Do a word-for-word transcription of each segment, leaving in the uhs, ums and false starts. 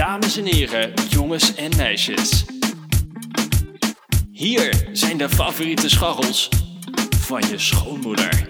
Dames en heren, jongens en meisjes. Hier zijn de favoriete scharrels van je schoonmoeder.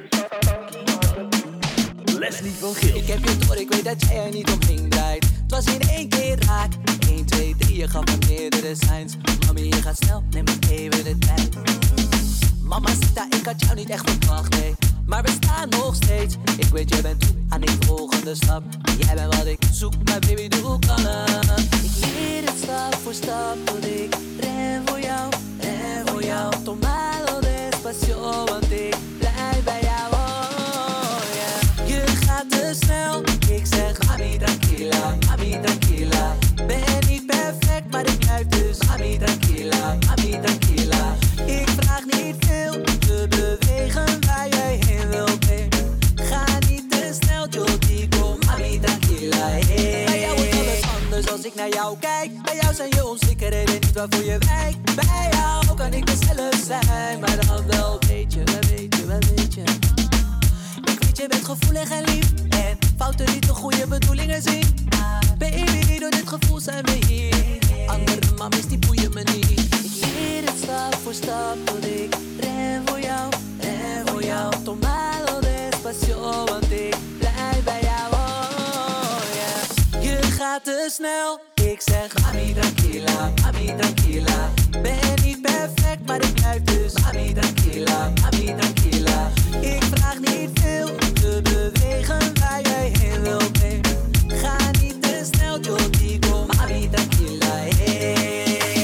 Leslie van Geel. Ik heb je door, ik weet dat jij er niet omheen draait. Het was in één keer raak. één, twee, drie, je gaf me meerdere signs. Mami, je gaat snel, neem maar even de tijd. Mama, Sita, ik had jou niet echt verwacht, nee. Maar we staan nog steeds. Ik weet, jij bent toe aan die volgende stap. Jij bent wat ik zoek, maar baby, doe kalm. Ik leer het stap voor stap, want ik ren voor jou, ren voor jou. Tomado despacio, want ik blijf bij jou, oh yeah. Je gaat te snel, ik zeg mami tranquila, mami tranquila. Ben niet perfect, maar ik blijf dus mami tranquila, mami tranquila. Ik vraag niet veel, te bewegen waar jij heen wil, babe. Ga niet te snel, Jodico, mami tranquila, hey. Bij jou is alles anders als ik naar jou kijk. Bij jou zijn je onzekerheden niet waarvoor je wijkt. Bij jou kan ik mezelf zijn, maar dan wel weet je, wel weet je, wel weet je. Ik weet je bent gevoelig en lief en fouten niet de goede bedoelingen zien. Baby, door dit gevoel zijn we hier. Andere mamies die boeien me niet. Ik leer het stap voor stap, want ik ren voor jou, ren voor jou. Tomado despacio, want ik blijf bij jou, oh yeah. Je gaat te snel, ik zeg mami tranquila, mami tranquila. Ben niet perfect, maar ik blijf dus mami tranquila, mami tranquila. Ik vraag niet veel, te bewegen waar jij heen wil, babe. Ga niet te snel, Jodico, mami tranquila, hey.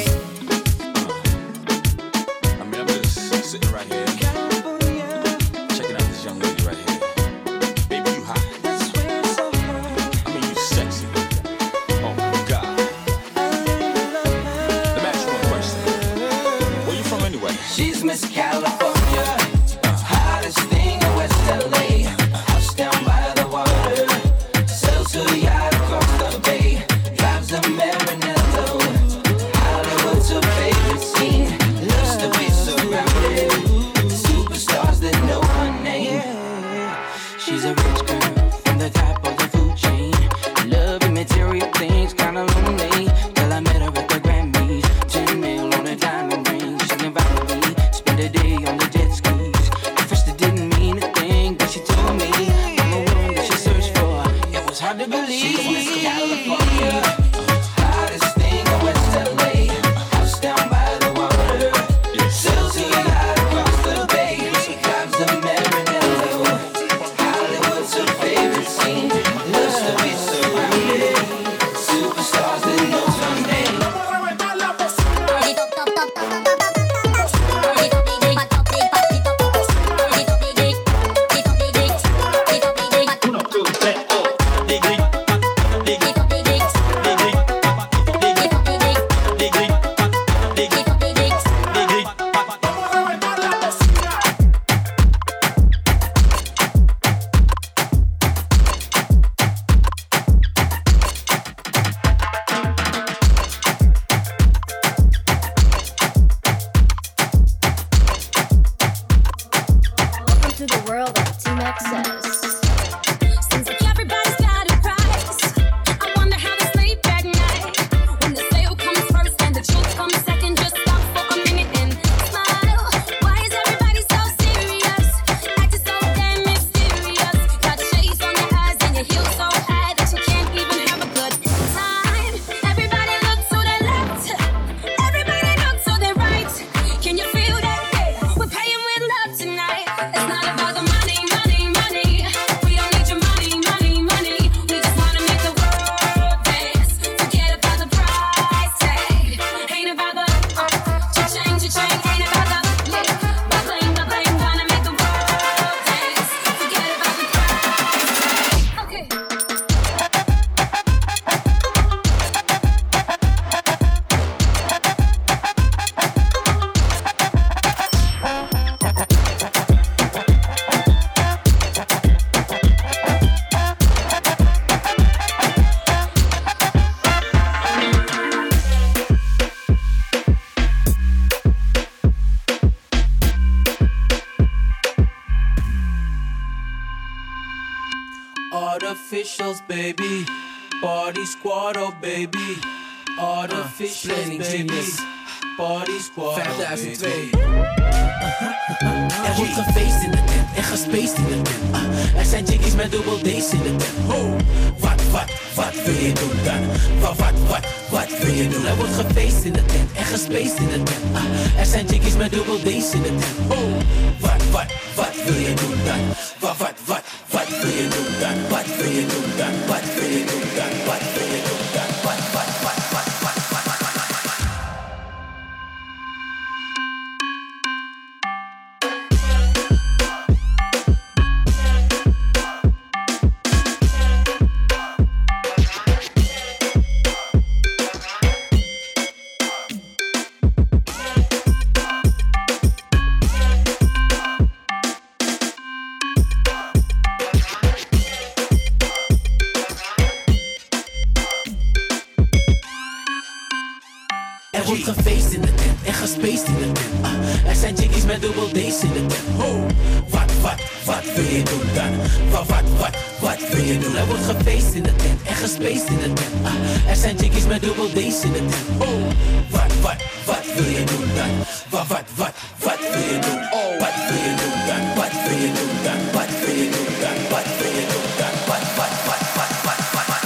I mean, I'm just sitting right here, checking out this young lady right here. Baby, you hot. I mean, you sexy. Oh my God. Let me ask you one question. Where you from anyway? She's Miss California, hottest thing in West L A. House down by the water, sails to the yacht across the bay. Drives a Maranello, Hollywood's her favorite scene. Loves to be surrounded, superstars that know her name. She's a rich girl from the top of the food chain. Loving material things, kinda lonely. Till I met her at the Grammys. Ten mil on a diamond ring. She invited me, spend a day on the jet skis. At first it didn't mean a thing, but she told me I'm the one that she searched for. It was hard to believe. She's Miss California, hottest thing in West L A. House down by the water, sails to the yacht across the bay. Drives a Maranello, Hollywood's her favorite scene. Loves to be surrounded, superstars that knows her name. Welcome to the world of Team X S. Seems like everybody's got a price. I wonder how they sleep at night. When the sale comes first and the truth comes second, just stop for a minute and smile. Why is everybody so serious? Acting so damn mysterious. Got shades on your eyes and your heels so high that you can't even have a good time. Everybody look to the left. Everybody look to the right. Can you feel that? We're paying with love tonight. It's not about the money, money, money. We don't need your money, money, money. We just wanna make the world dance. Forget about the price tag. Ain't about the uh, cha-ching, cha-ching. Ain't about the yeah, the bling, the bling. Wanna make the world dance. Forget about the price tag. Okay. Artificials, baby. Party squad, oh baby. All the fish, baby. Party squad, vijfduizend twee. Er wordt gefeest in de tent en gespaced in de tent. Uh, er zijn chickies met dubbel D's in de tent. Oh, wat, wat, wat wil je doen dan? Wat, wat, wat, wat wil je doen? Er wordt gefeest in de tent en gespaced in de tent. Uh, er zijn chickies met dubbel D's in de tent. Oh, wat, wat, wat wil je doen dan? Wat, wat, wat, wat wil je doen dan? Wat wil je doen dan? Wat wil je doen dan? Wat wil je doen dan? Wat, wat, wat, wat, wat, wat, wat, wat. Er wordt gefeest in de tent en gespaced in de tent. Uh, er zijn chickies met dubbel D's in de tent. Oh, wat, wat, wat wil je doen dan? Wat, wat, wat, wat wil je doen? Er wordt gefeest in de tent en gespaced in de tent. Uh, er zijn chickies met dubbel D's in de tent. Oh, wat, wat, wat wil je doen dan? Wat, wat, wat, wat wil je doen? Oh, wat wil je doen dan? Wat wil je doen dan? Wat wil je doen dan? Wat wil je doen dan? Wat, wat, wat, wat, wat, wat, wat, wat.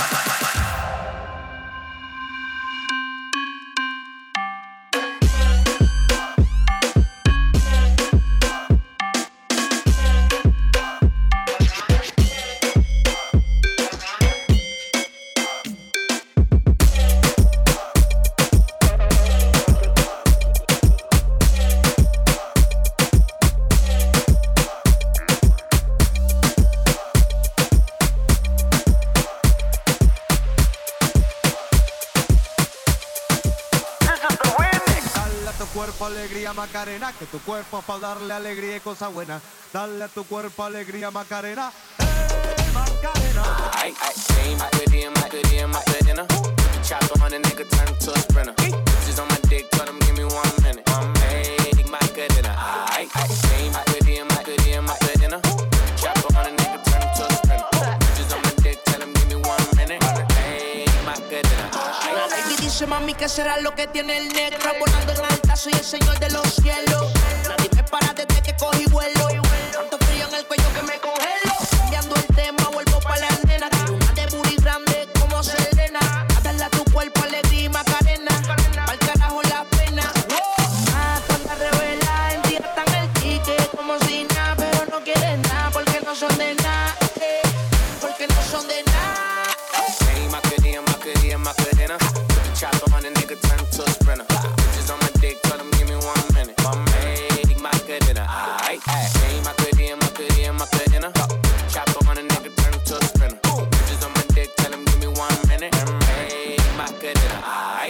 Alegría Macarena, que tu cuerpo para darle alegría y cosa buena. Dale a tu cuerpo alegría Macarena, hey Macarena. I, I, same Macarena, Macarena, Macarena. Chopper on a nigga, turn him to a sprinter. Bitches on my dick, tell them give me one minute. Hey Macarena, I, I, same Macarena, Macarena, Macarena. Chopper on a nigga, turn him to a sprinter. Bitches on my dick, tell them give me one minute. Hey Macarena, I. Y dice mami que será lo que tiene el negro volando en alta, soy el señor de los cielos. Nadie me para desde que cogí vuelo. Tanto frío en el cuello que me congelo. Cambiando el tema, vuelvo pa' la nena. Quiero una de booty grande como Selena. A darle a tu cuerpo alegría y Macarena. Pa'l carajo la pena. Ah, toda revela, en ti están el ticket como si nada, pero no quieren nada porque no son de nada. Eh, porque no son de nada. Hey Macarena, Macarena, Macarena. Chopper on a nigga, turn him to a sprinter. Bitches on my dick, tell them give me one minute. Hey, Macarena, aight, aight. Hey, Macarena, Macarena, Macarena. Chopper on a nigga, turn him to a sprinter. Bitches on my dick, tell them give me one minute. Hey, Macarena, aight.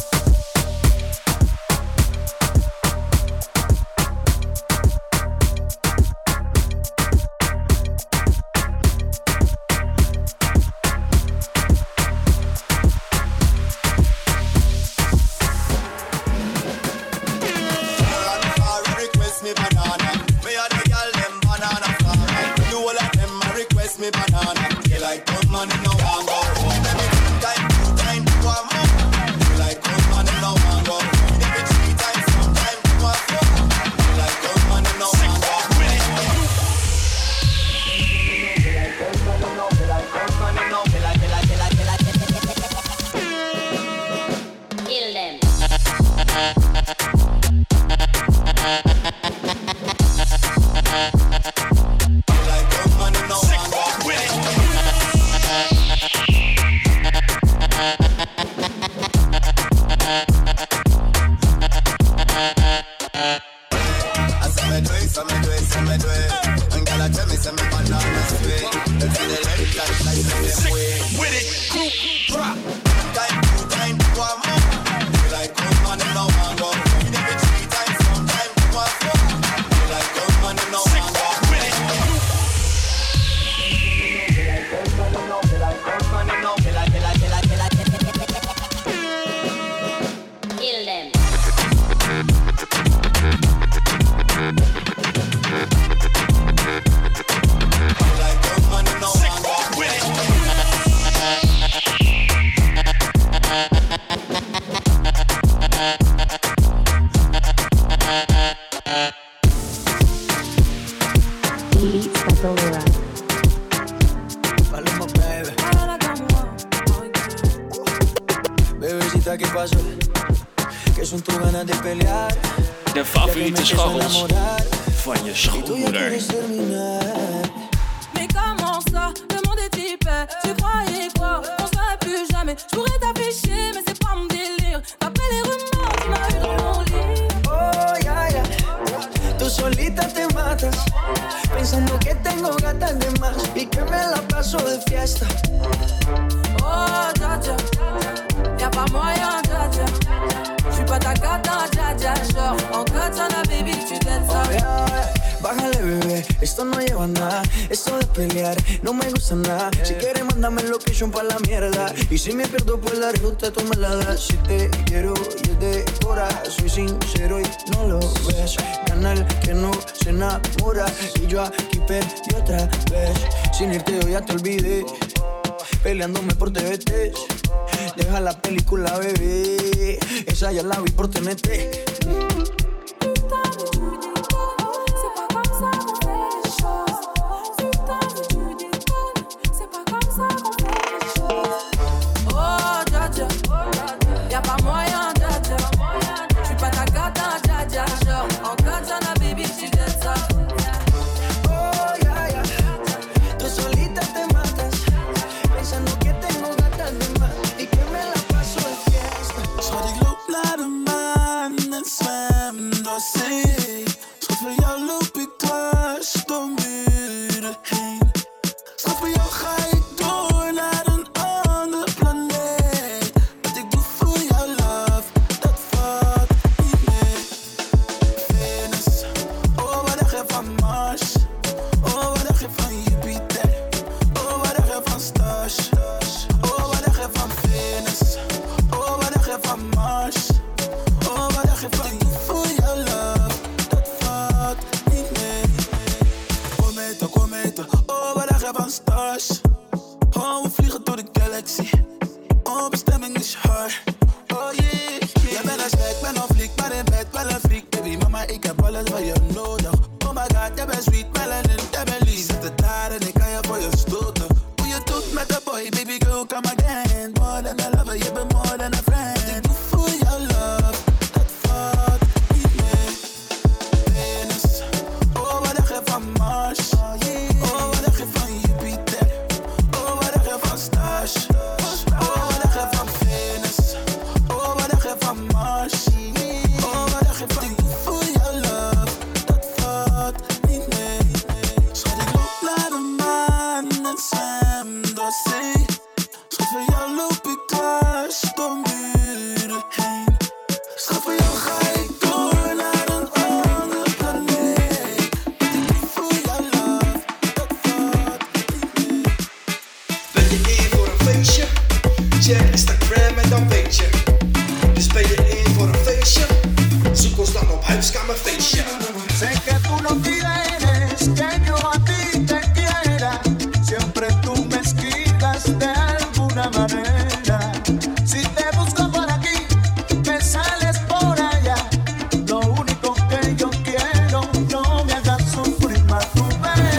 Me banana, me a the girl them banana farmer. You all of them a request me banana. You like come on and no one go. Let me two time, two time, two more. You like come on and no one go. Let me three times, sometime two more. You like come on and no one go. You like come on and no, you like come on and no, you like, you like, you like, you like, you like. Kill them. Beats by Delira. Paloma, baby. Bebecita, ¿qué pasó? Que son tus ganas de pelear. De favoriete scharrels van je schoonmoeder. Mais comment ça, le monde est hyper. Tu croyais quoi, on serait plus jamais. Je pourrais t'afficher, mais c'est pas mon délire. D'après les rumeurs, tu m'as eu dans mon lit. Oh, ya, ya. Tú solita te matas, pensando que tengo gatas de más y que me la paso de fiesta. Oh, dja dja, y'a pas moyen, dja dja. J'suis pas ta gata, dja dja. Genre, en katana, baby, tu t'aides ça. Oh, yeah, yeah. Bájale, bebé, esto no lleva nada. Esto de pelear no me gusta nada. Si quieres, mándame location pa' la mierda. Y si me pierdo por la ruta, tú me la das. Si te quiero, yo de cora. Soy sincero y no lo ves. Canal que no se enamora. Y yo aquí perdí otra vez. Sin irte yo ya te olvidé. Peleándome por T V T. Deja la película, bebé. Esa ya la vi por T N T. Y'a pas moyen, dja dja. J'suis pas ta gata, dja dja. Genre, en katana, baby, tu t'aides ça. Oh, ya, ya. Tú solita te matas, pensando que tengo gatas de más y que me la paso de fiesta. Schat, ik loop naar de maan en zwem door zee. Schat, voor jou loop ik dwars door muren heen. Schat, voor jou ga ik door naar een ander planeet. Wat ik doe voor jou, love, dat valt niet mee. Venus, oh wat dacht je van Mars? Oh wat dacht je van Jupiter? Oh wat dacht je van Stars? Oh wat dacht je van Venus? Oh wat dacht je van Mars? Oh wat dacht je van ik doe voor jou, love, dat valt niet mee. Cometa, cometa, oh wat dacht je van Stars? Oh we vliegen door de galaxy. Oh bestemming is hard. Oh yeah, yeah. Jij bent een gek, ben een fliek, maar in bed wel een freak. Baby mama, ik heb alles wat je nodig. Oh my god, jij bent sweet, melanin, jij bent lief. Zet het daar en ik kan je voor je stoten. Hoe je doet met de boy, baby girl, come again. More than a lover, je bent more than a friend. Ik doe voor jou love, dat valt niet mee. Venus, oh wat dacht je van Mars? Oh wat dacht je van Jupiter? Oh wat dacht je van Stars? Oh wat dacht je van Venus? Oh wat dacht je van Mars? Oh wat dacht je van ik doe voor jou love, dat valt niet mee. Schat, ik loop naar de maan en zwem door zee. Schat, voor jou loop ik dwars door muren heen. Schat, voor jou ga ik door naar een ander planeet. Wat ik doe voor jou love, dat valt niet mee. Ben je in voor een feestje? Check Instagram en dan weet je. Dus ben je in voor een feestje? Zoek ons dan op Huiskamerfeestje. Sé que tú no quieres que yo a ti te quiera. Siempre tú me esquitas de alguna manera. Si te busco por aquí, me sales por allá. Lo único que yo quiero, no me hagas sufrir más tu pena.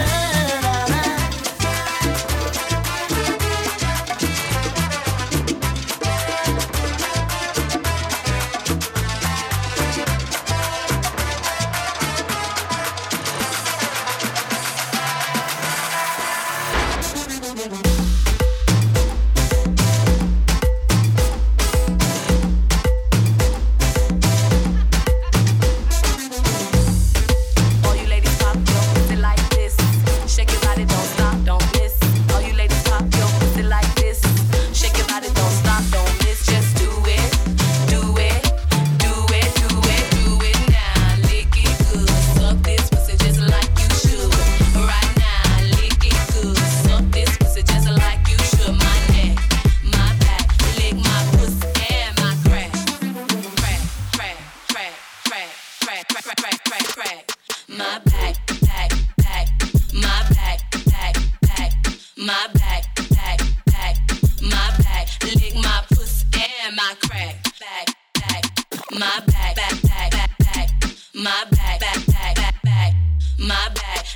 All you ladies pop your pussy like this. Shake your body, don't stop, don't miss. All you ladies pop your pussy like this. Shake your body, don't stop, don't miss. Just do it, do it, do it, do it, do it now. Lick it good, suck this pussy just like you should. Right now, lick it good, suck this pussy just like you should. My neck, my back, lick my pussy and my crack, crack, crack, crack, crack, crack, crack, crack, crack, crack. My back, back, back, my back, back, back, my back, back, back, my back, lick my pussy and my crack, back, back, my back, back, back, back, back, my back, back, back, back, back, my back,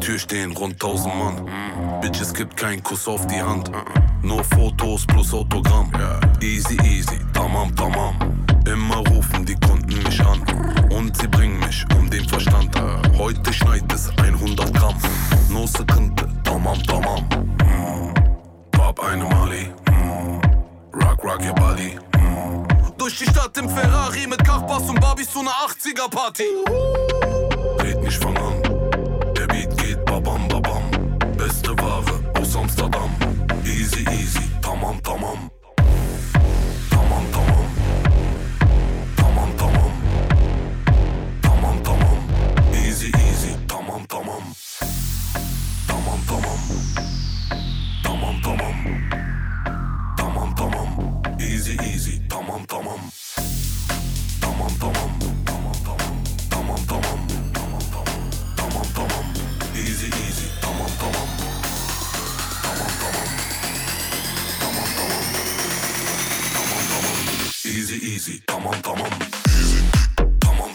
Tür stehen rund tausend Mann. Bitch, es gibt keinen Kuss auf die Hand. Nur Fotos plus Autogramm. Easy, easy, tamam, tamam. Immer rufen die Kunden mich an. Und sie bringen mich um den Verstand. Heute schneit es hundert Gramm. No Sekunde, tamam, tamam. Pop eine Mali. Rock, rock your body. Durch die Stadt im Ferrari mit Kachbass und Barbies zu einer achtziger Party. Red nicht fang an. Der Beat geht babam babam. Beste Ware aus Amsterdam. Easy easy, tamam tamam. Tamam tamam. Tamam tamam. Tamam tamam. Easy easy, tamam tamam. Tamam tamam. Tamam tamam. Tamam tamam. Easy easy, tamam tamam. Tamam tamam. Tamam tamam. Tamam tamam. Tamam tamam. Easy easy, tamam tamam. Tamam tamam. Tamam tamam. Tamam tamam. Easy easy, tamam tamam. Easy. Tamam.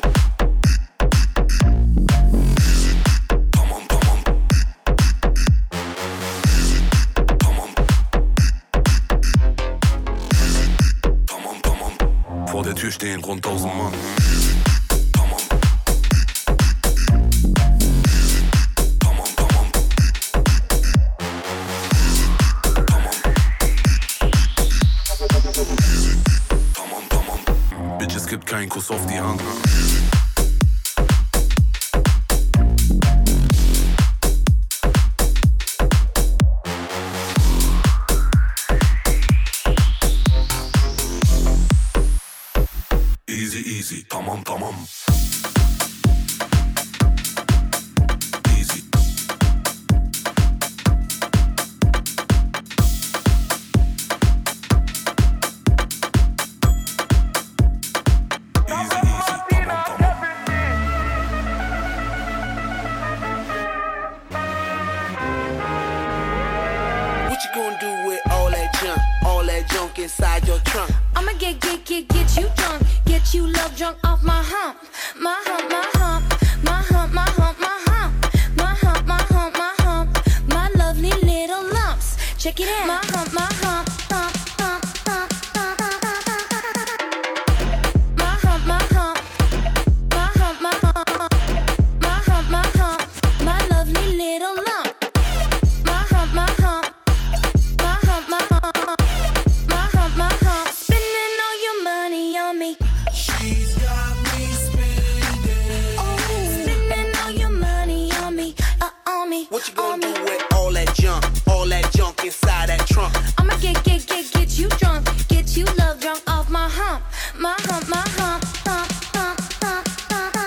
Easy. Tamam tamam. Easy. Tamam. Easy. Tamam tamam. Vor der Tür stehen rund tausend Mann. Es gibt keinen Kuss auf die Hand. Easy, easy, tamam, tamam. Easy. Inside your trunk, I'ma get, get, get, get you drunk, get you love drunk off my hump, my hump, my hump, my hump, my hump, my hump, my hump, my hump, my hump, my lovely little lumps. Check it out, my hump, my hump, hump, hump, hump, hump, my hump, my hump, my hump, my hump, my hump, my hump, my lovely little lump, my hump, my hump, my hump, my hump. Spending all your money on me. She's got me spending. Oh, spending all your money on me, uh, on me. What you gonna do with all that junk, all that junk inside that trunk? I'ma get, get, get, get you drunk, get you love drunk off my hump, my hump, my hump, hump, hump, hump, hump,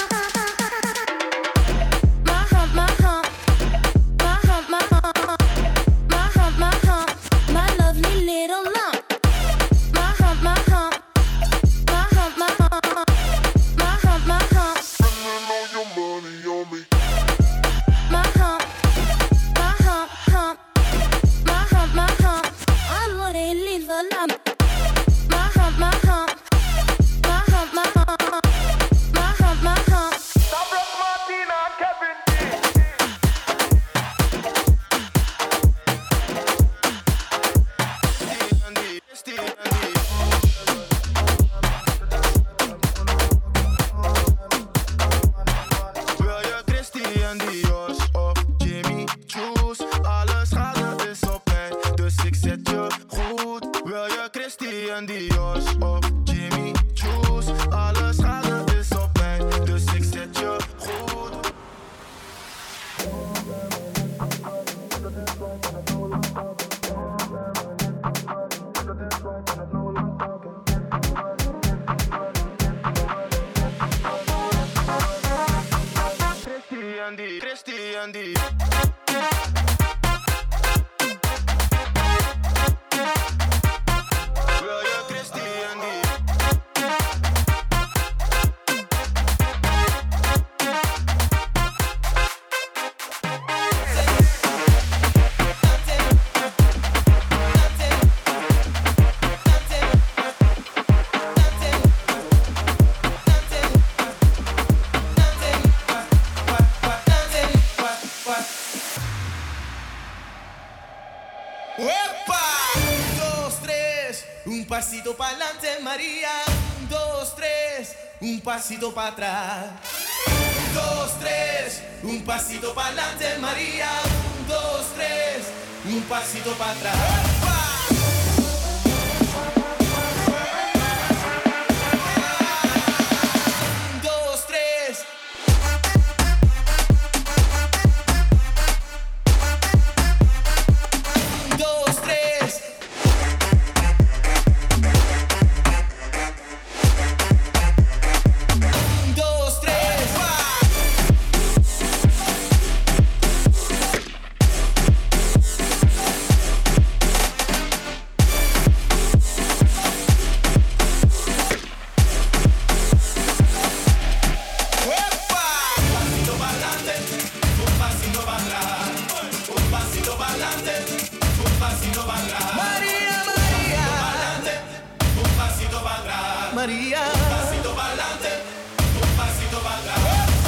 my hump, my hump, my hump, my hump, my hump, my hump, my lovely little lump. My hump, my hump, my hump, my hump, my hump, my hump. Spending all your money on me. My hump, my hump, hump, my hump, my hump. I know they leave a lump. My hump, my hump, pasito pa'lante, María. Un, dos, tres, un pasito para atrás. Un, dos, tres, un pasito pa'lante, María. Un, dos, tres, un pasito para atrás. María. Un pasito para adelante, un pasito para atrás.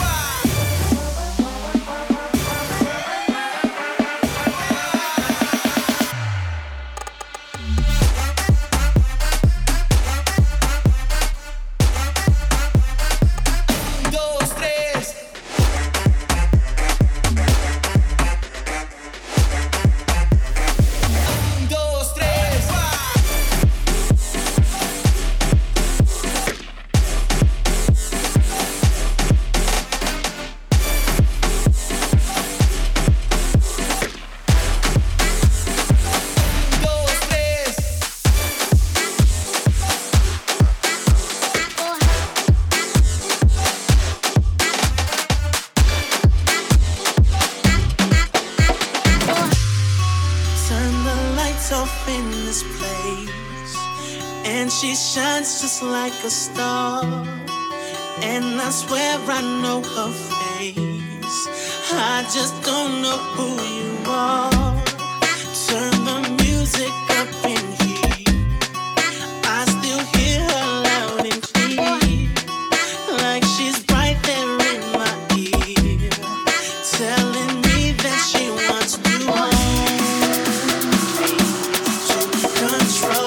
She shines just like a star, and I swear I know her face. I just don't know who you are. Turn the music up in here. I still hear her loud and clear, like she's right there in my ear, telling me that she wants to hold me, to control.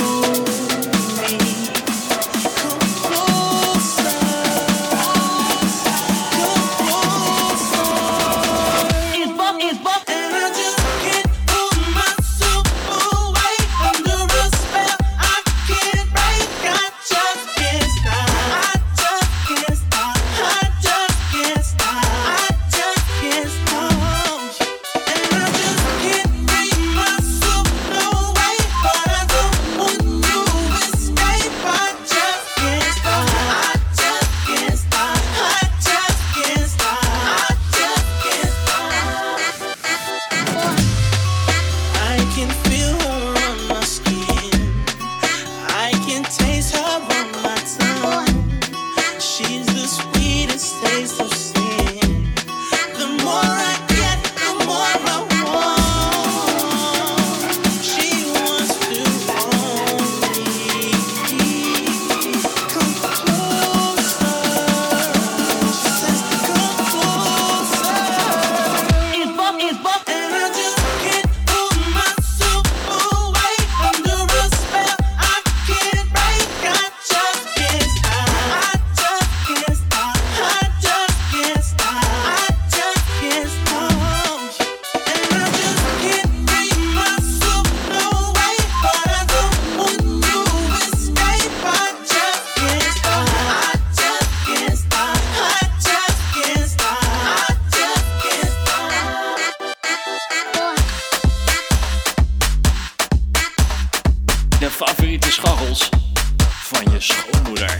Favoriete scharrels van je schoonmoeder.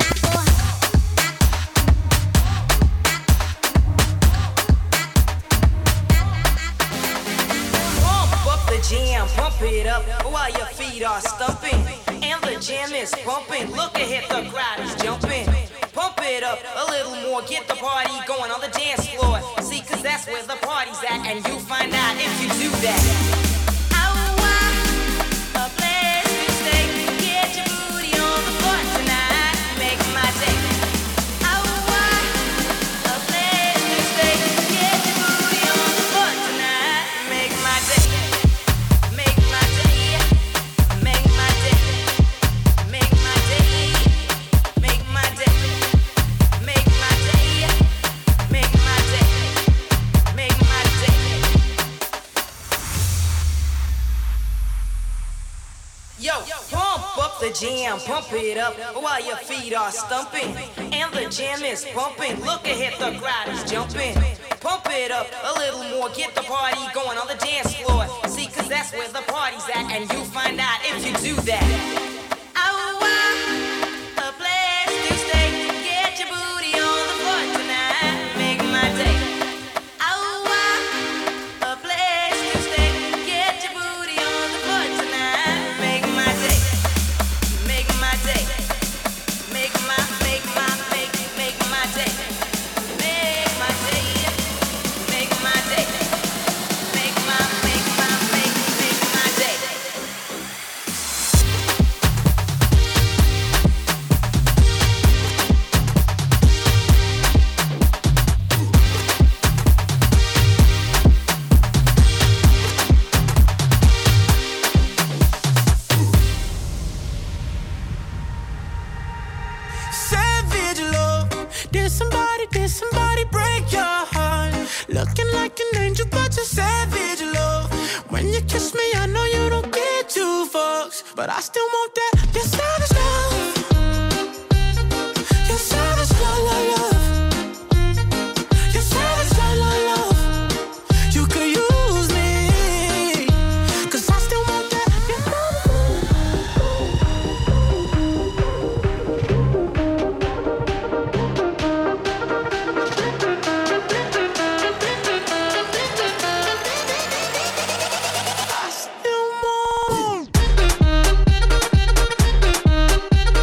Pump up the jam, pump it up while your feet are stumping. And the jam is pumping. Look ahead, the crowd is jumping. Pump it up a little more, get the party going on the dance floor. See, cause that's where the party's at, and you find out if you do that. Make jam, pump it up while your feet are stumping. And the jam is pumping, look ahead, the crowd is jumping. Pump it up a little more, get the party going on the dance floor. See, cause that's where the party's at, and you find out if you do that. Oh, wow, a place to stay, get your booty on the floor tonight, make my day. Oh, wow, a place to stay, get your booty on the floor tonight, make my day, make my day, make my, make my, make, make my day, make my day, make my day, make my, make my, make, make my day. Savage love. Did somebody, did somebody break your heart? Looking like an angel, but you're savage love. When you kiss me, I know you don't get two fucks, but I still want that. You're savage love. You're savage love, love, love. You're savage love, love, love. You could use me, cause I still want that. You're I still want.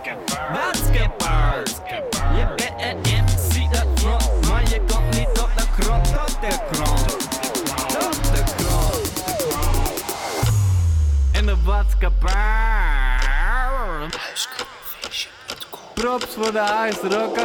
Basketball. Je bent een M C dat front, maar je komt niet op de grond, tot de grond. Tot de grond. In de basketball. Props voor de huisrokken.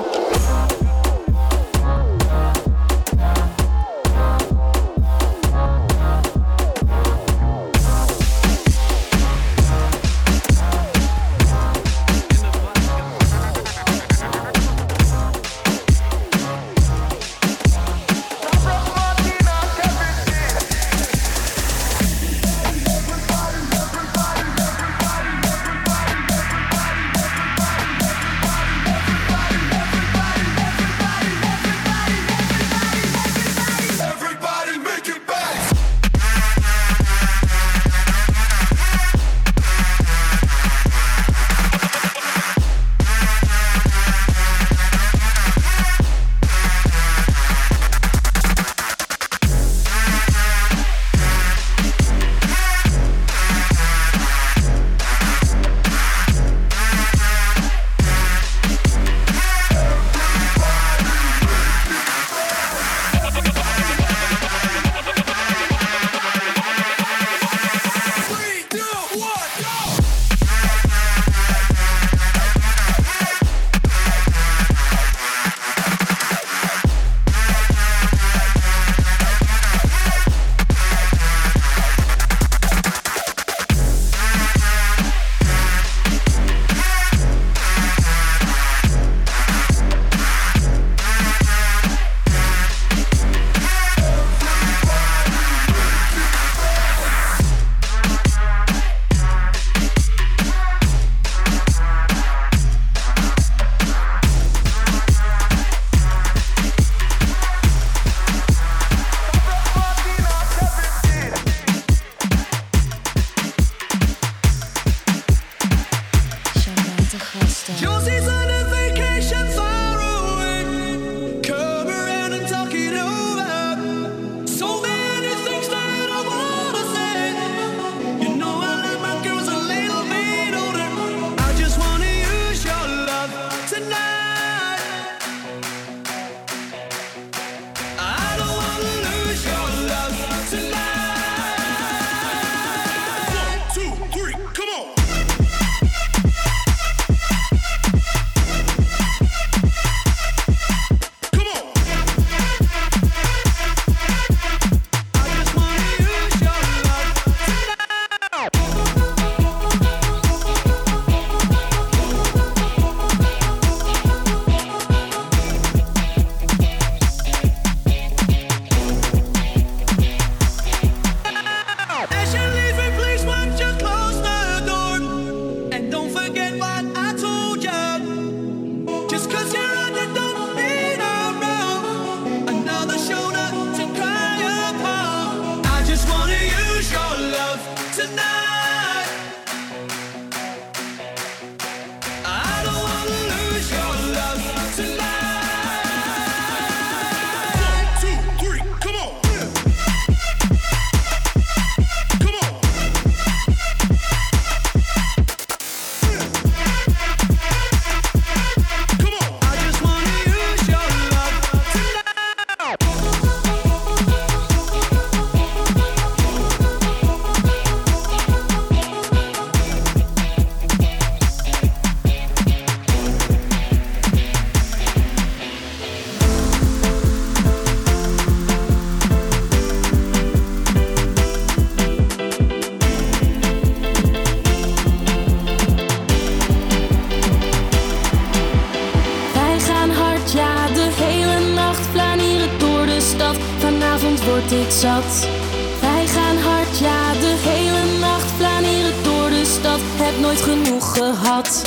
word ik zat. Wij gaan hard, ja, de hele nacht flaneren door de stad. Heb nooit genoeg gehad.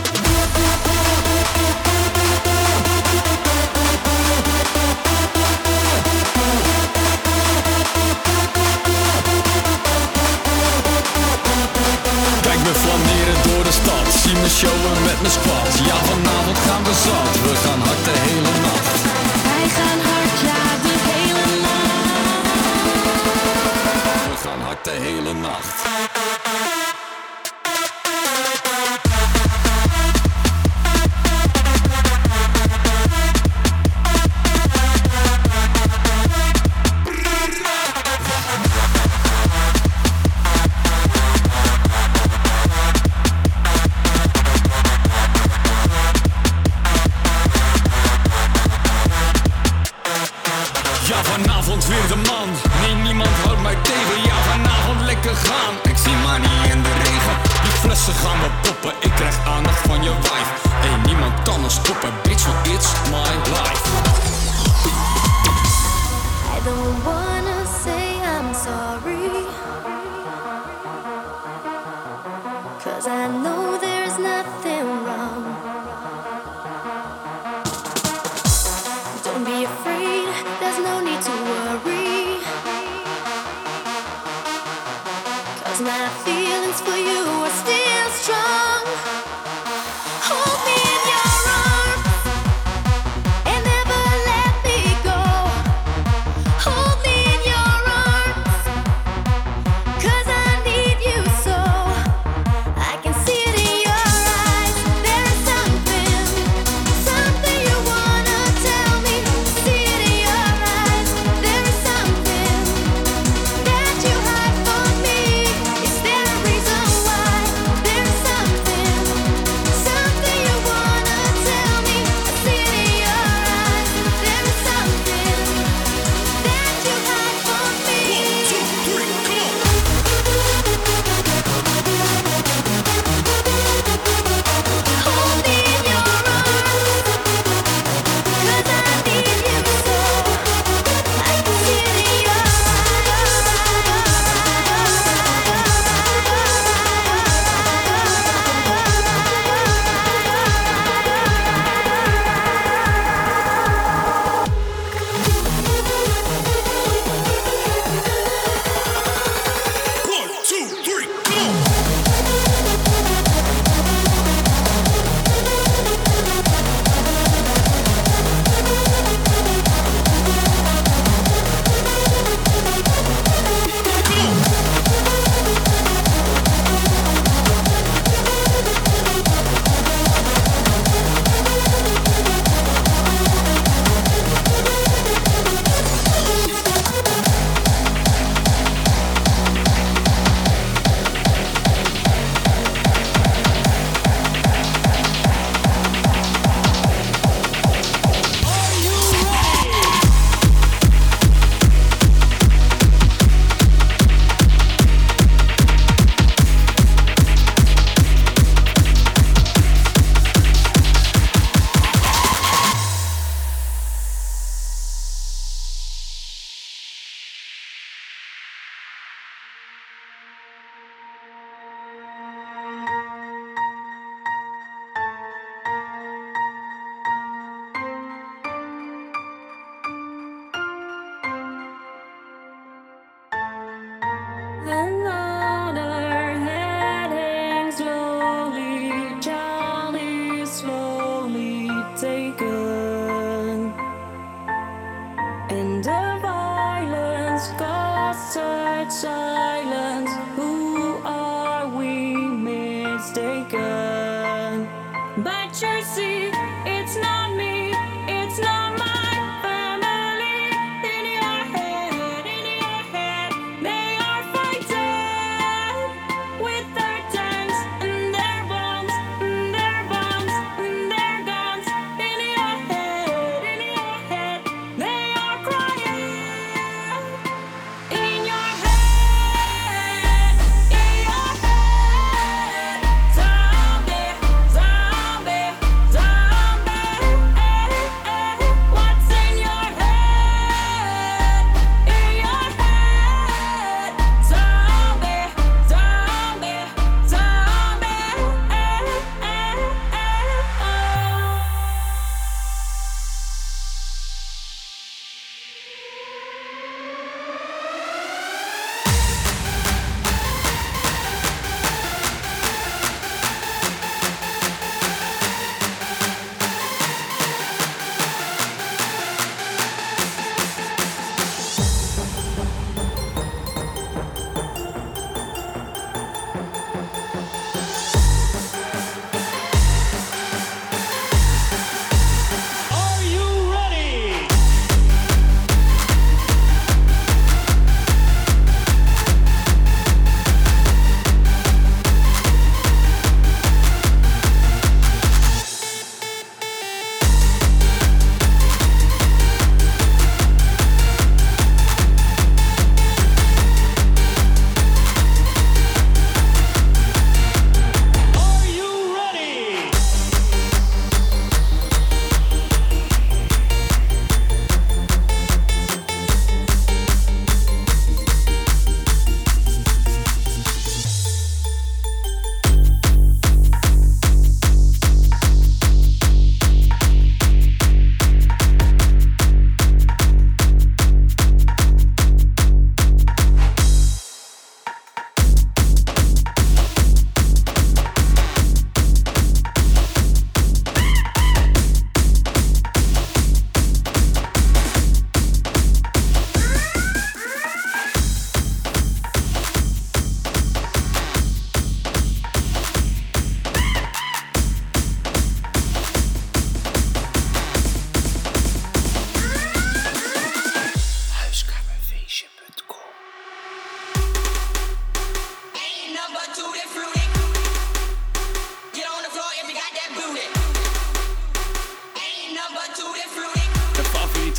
Kijk me flaneren door de stad, zie me showen met mijn squad. Ja, vanavond gaan we zat, we gaan hard de hele nacht. Wij gaan hard, ja, de hele nacht. We gaan hard de hele nacht. je wife. Hey, niemand kan ons stoppen, bitch, want it's my life. I don't wanna say I'm sorry, 'cause I know there's nothing wrong. Don't be afraid, there's no need to worry, 'cause my feelings for you are still strong. Hold me in your arms and never let me go. Hold me in your arms, 'cause I need you so. I can see it in your eyes. There is something, something you wanna tell me. See it in your eyes. There is something that you hide from me. Is there a reason why? There is something, something you wanna tell me. I see it in your eyes. There is something that you hide from me. One, two, three, come on. Hold me in your arms, 'cause I need you so. I can see it in your One, two, three, come on. Another heading slowly, Charlie slowly taken, and the violence caused such silence. Who are we mistaken? But you see, it's not me, it's not my family. In your head, in your head, they are fighting with their tanks and their bombs, and their bombs and their guns. In your head, in your head, they are crying. In your head, in your head, zombie, zombie, zombie.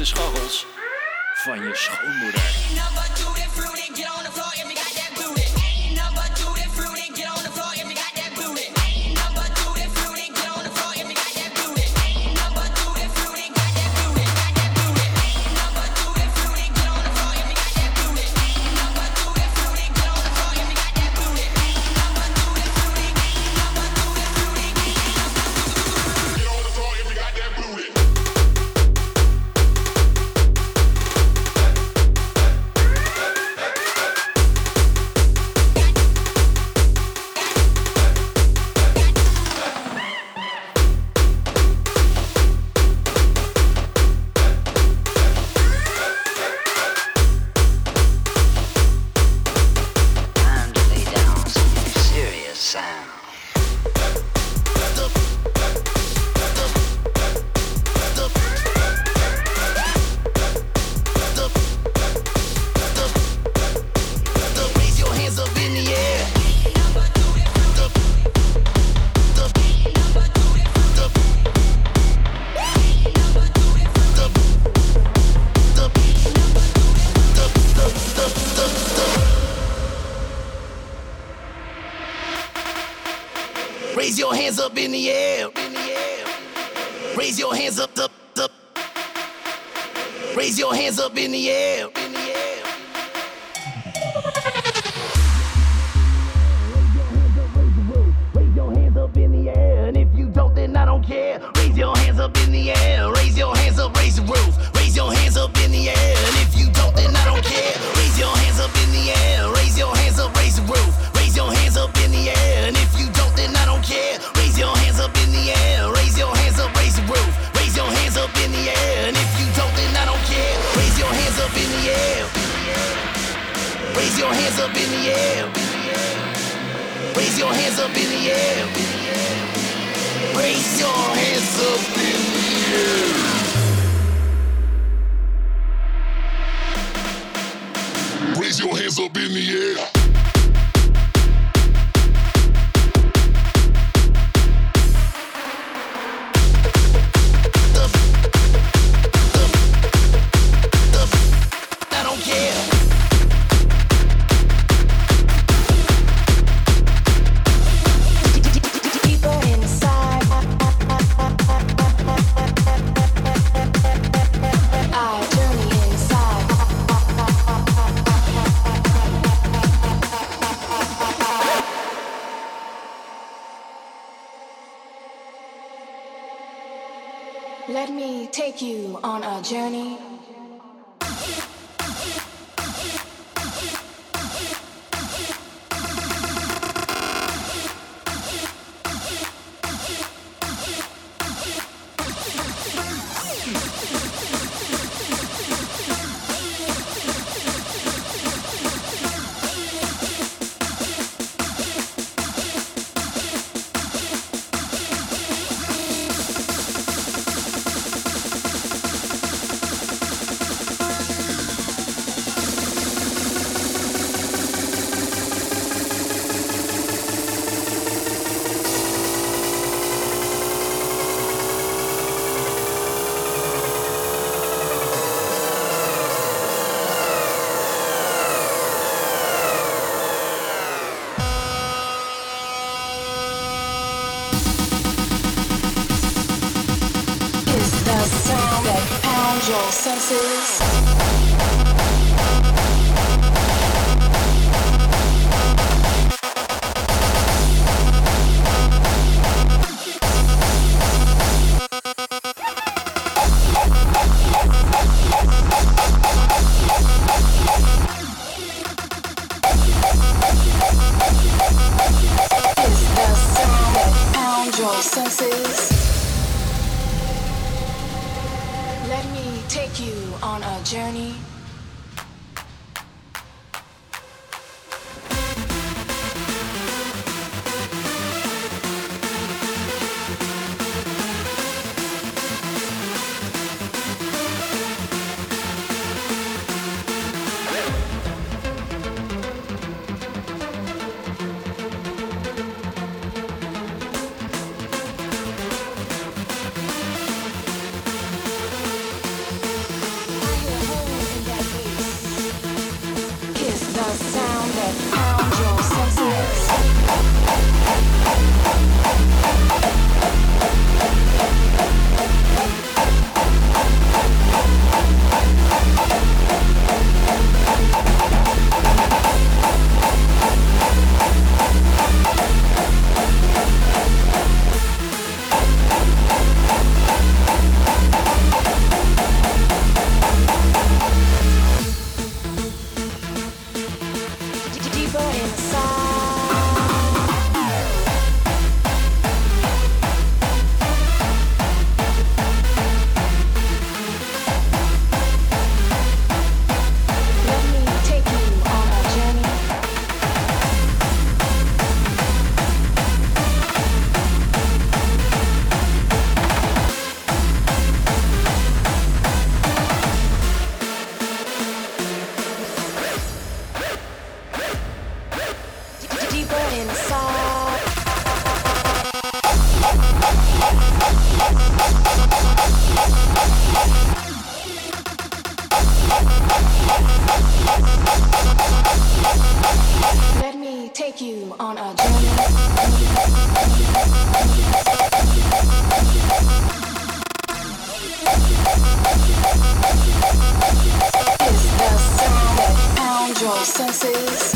scharrels van je schoonmoeder. Raise your hands up in the air. Raise your hands up, up, up. Raise your hands up in the air. Raise your hands up in the air. And if you don't, then I don't care. Raise your hands up in the air. Raise your hands up, raise the roof. Raise your hands up in the air. And if you don't, then I don't care. Raise your hands up in the air. Raise your hands up, raise the roof. Raise your hands up in the air. And if you don't, then I don't care. Raise your hands up in the air. Raise your hands up, raise the roof. Raise your hands up in the air. And if you don't, then I don't care. Raise your hands up in the air. Raise your hands up in the air. Raise your hands up in the air. Raise your hands up in the air. Raise your hands up in the air. I don't care. Deeper inside, I journey inside. Let me take you on a journey. Your senses. Is the sound that pounds your senses. Let me take you on a journey. Let me take you on a journey. It's the sound that pounds your senses.